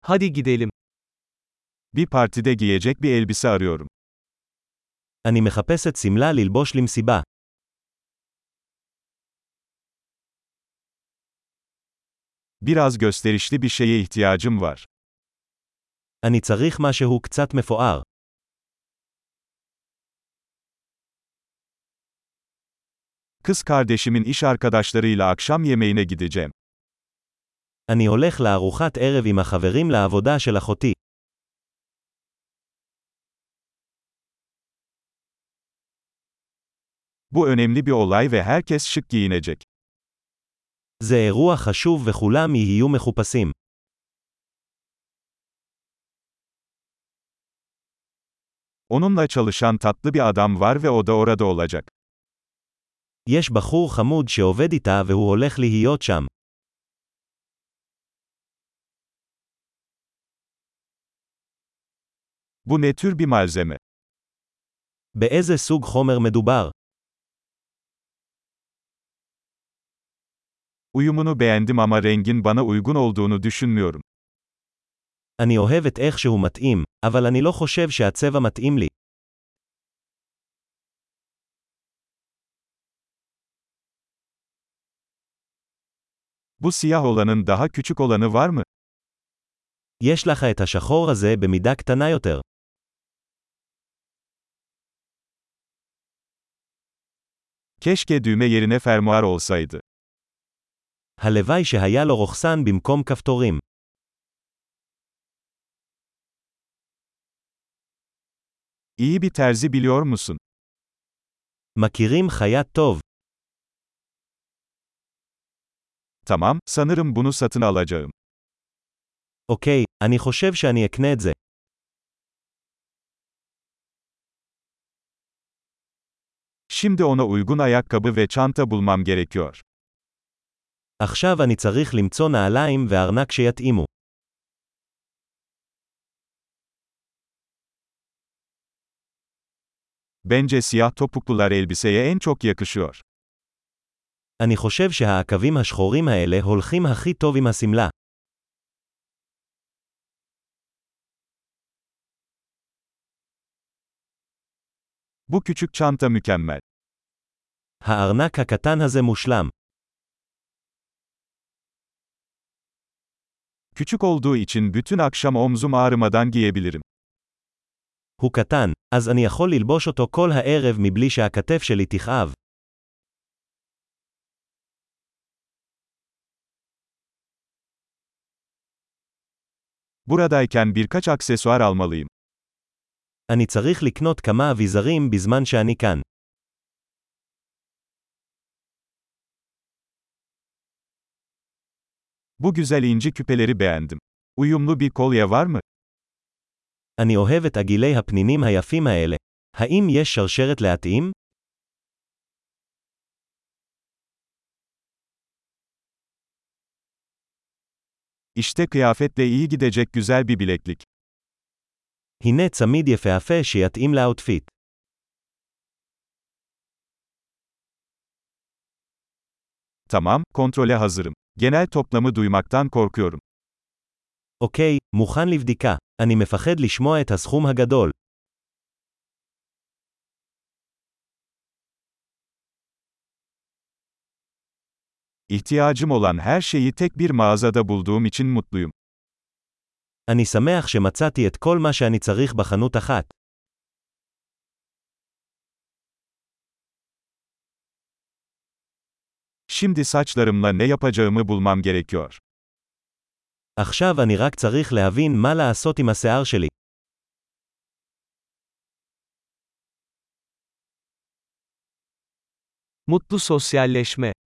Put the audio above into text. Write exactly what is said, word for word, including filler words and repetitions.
Hadi gidelim. Bir partide giyecek bir elbise arıyorum. אני מחפשת שמלה ללבוש למסיבה. Biraz gösterişli bir şeye ihtiyacım var. אני צריך משהו קצת מפואר. Kız kardeşimin iş arkadaşlarıyla akşam yemeğine gideceğim. אני הולך לארוחת ערב עם החברים לעבודה של אחותי. Bu önemli bir olay ve herkes şık giyinecek. זה אירוע חשוב וכולם יהיו מחופשים. Onunla çalışan tatlı bir adam var ve o da orada olacak. יש בחור חמוד שעובד איתה והוא הולך להיות שם. Bu ne tür bir malzeme? באיזה סוג חומר מדובר? Uyumunu beğendim ama rengin bana uygun olduğunu düşünmüyorum. אני אוהב את איך שהוא מתאים, אבל אני לא חושב שהצבע מתאים לי. Bu siyah olanın daha küçük olanı var mı? יש לך את השחור הזה במידה קטנה יותר. Keşke düğme yerine fermuar olsaydı. הלוואי שהיה לו רוכסן במקום כפתורים. İyi bir terzi biliyor musun? מכירים חייט טוב. Tamam, sanırım bunu satın alacağım. אוקיי, אני חושב שאני אקנה את זה. Şimdi ona uygun ayakkabı ve çanta bulmam gerekiyor. עכשיו אני צריך למצוא נעליים וארנק שיתאימו. Bence siyah topuklular elbiseye en çok yakışıyor. אני חושב שהעקבים השחורים האלה הולכים הכי טוב עם השמלה. Bu küçük çanta mükemmel. הארנק הקטן הזה מושלם. Küçük olduğu için bütün akşam omzum ağrımadan giyebilirim. הוא קטן, אז אני יכול ללבוש אותו כל הערב מבלי שהכתף שלי תכאב. Buradayken birkaç aksesuar almalıyım. אני צריך לקנות כמה אביזרים בזמן שאני כאן. Bu güzel inci küpeleri beğendim. Uyumlu bir kolye var mı? אני אוהב את עגילי הפנינים היפים האלה. האם יש שרשרת להתאים? İşte kıyafetle iyi gidecek güzel bir bileklik. הנה צמיד יפהפה שיתאים לאוטפיט. Tamam, kontrole hazırım. Genel toplamı duymaktan korkuyorum. אוקיי, מוכן לבדיקה. אני מפחד לשמוע את הסכום הגדול. İhtiyacım olan her şeyi tek bir mağazada bulduğum için mutluyum. אני שמח שמצאתי את כל מה שאני צריך בחנות אחת. Şimdi saçlarımla ne yapacağımı bulmam gerekiyor. עכשיו אני רק צריך להבין מה לעשות עם השיער שלי. Mutlu sosyalleşme.